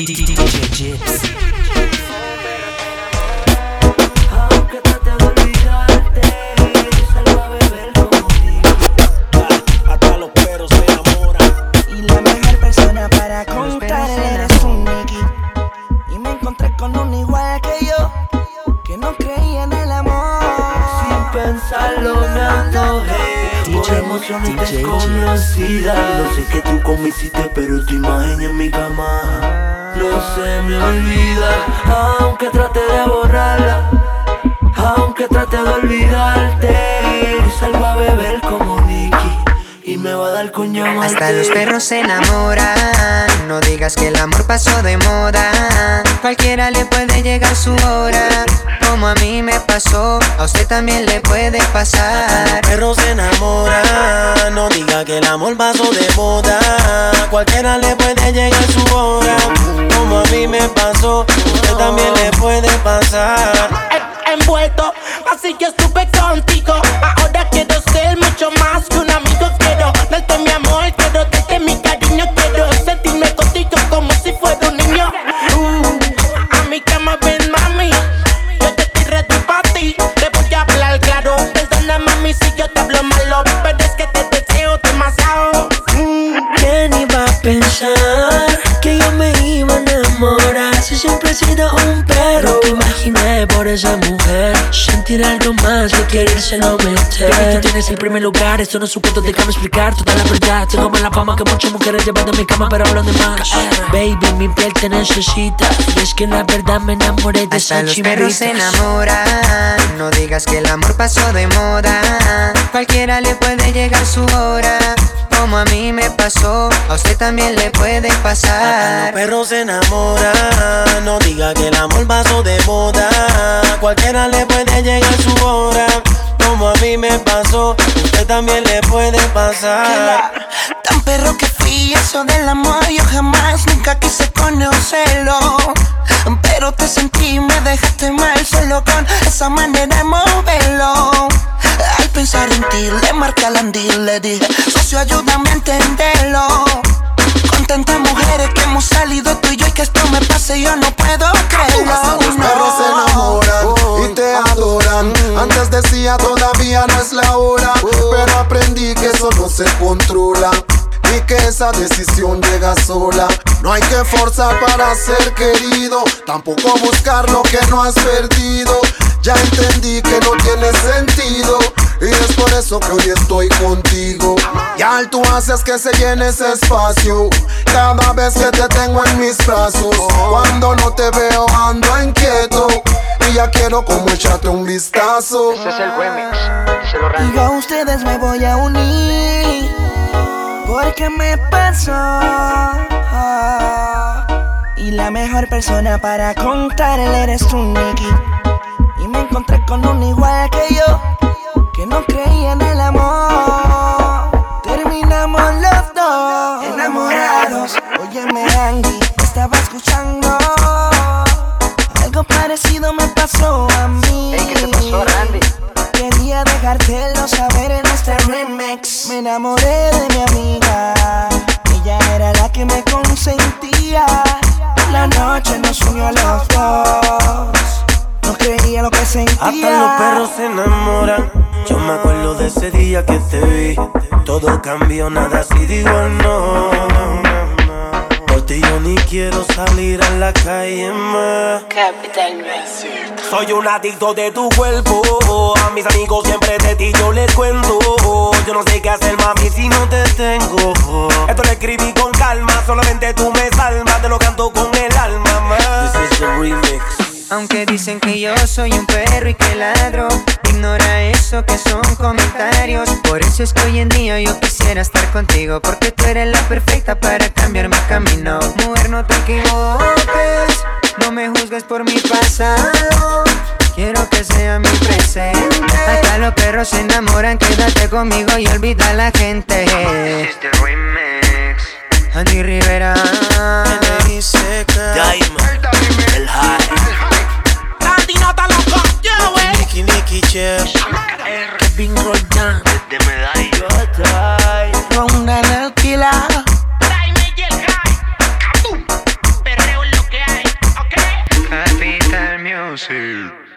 DJ Chips. Aunque trate de olvidarte, salgo a beber como Nicky. Hasta los perros se enamoran. Y la mejor persona para contarle eres tú, Nicky. Y me encontré con un igual que yo, que no creía en el amor. Sin pensarlo me antojé. Por emoción y desconocida. No sé que tú cómo hiciste, pero tu imagen en mi cama no se me olvida. Aunque trate de borrarla, aunque trate de olvidarte, salgo a beber como Nicky y me va a dar con llamarte. Hasta los perros se enamoran. No digas que el amor pasó de moda. Cualquiera le puede llegar su hora. Como a mí me pasó, a usted también le puede pasar. Los perros se enamoran. No diga que el amor pasó de moda. Cualquiera le puede llegar su hora. Como a mí me pasó, usted también le puede pasar. Envuelto, así que estuve contigo. Ahora quiero ser mucho más que un amigo. Quiero darte mi amor, quiero darte mi cariño. Quiero sentirme contigo como si fuera un niño. A mi cama ven, mami. Yo te estoy ready pa' ti. Te voy a hablar claro. Perdona, mami, si yo te hablo malo, pero es que te deseo demasiado. ¿Quién iba a pensar que yo me iba a enamorar? Si siempre he sido un perro, te imaginé por esa mujer. Sentir algo más que querérselo meter. Baby, tú tienes el primer lugar, esto no es un cuento, déjame explicar toda la verdad. Tengo más la fama que muchas mujeres llevando a mi cama, pero hablan de más. Baby, mi piel te necesita, y es que la verdad me enamoré de Hasta esa los chimerita. perros se enamoran. No digas que el amor pasó de moda. Cualquiera le puede llegar su hora. Como a mí me pasó, a usted también le puede Hasta pasar. los perros se enamoran. No diga que el amor pasó de moda. Cualquiera le puede llegar su hora. Como a mí me pasó, usted también le puede pasar. Tan perro que fui, eso del amor yo jamás, nunca quise conocerlo. Pero te sentí, me dejaste mal solo con esa manera de moverlo. Al pensar en ti, le marqué al andil, le dije, socio, ayúdame a entenderlo. Con tantas mujeres que hemos salido tú y yo, y que esto me pase, yo no puedo creerlo. Hasta los perros se enamoran y te adoran. Antes decía todavía no es la hora, pero aprendí que eso no se controla y que esa decisión llega sola. No hay que forzar para ser querido, tampoco buscar lo que no has perdido. Ya entendí que no tiene sentido y es por eso que hoy estoy contigo. Ya tú haces que se llene ese espacio cada vez que te tengo en mis brazos. Cuando no te veo ando inquieto y ya quiero como echarte un vistazo. Ese es el remix. Y yo a ustedes me voy a unir, porque me pasó. Y la mejor persona para contarle eres tú, Nicky. Y me encontré con un igual que yo, que no creía en el amor. Terminamos los dos enamorados. Óyeme, Angie, estaba escuchando. Algo parecido me pasó a mí. Hey, ¿qué te pasó, Randy? Quería dejártelo saber en este remix. Me enamoré de mi amiga, ella era la que me consentía. La noche nos unió a los dos, no creía lo que sentía. Hasta los perros se enamoran. Yo me acuerdo de ese día que te vi. Todo cambió, nada así digo no. Por ti yo ni quiero salir a la calle más. Soy un adicto de tu cuerpo. A mis amigos siempre de ti yo les cuento. Yo no sé qué hacer, mami, si no te tengo. Esto lo escribí con calma, solamente tú me salvas. Te lo canto con el alma, man. This is the remix. Aunque dicen que yo soy un perro y que ladro, ignora eso que son comentarios. Por eso es que hoy en día yo quisiera estar contigo, porque tú eres la perfecta para cambiar mi camino. Mujer, no te equivoques, no me juzgues por mi pasado, quiero que sea mi presente. Hasta los perros se enamoran, quédate conmigo y olvida a la gente. This is the remix. Andy Rivera, Diamond, el high. Randy, no te loco, yo, wey. Nicky Chef. Kevin Roldán. Desde Medallo. Ronda en el killer. Jaime y el high. Kaboom. Perreo en lo music.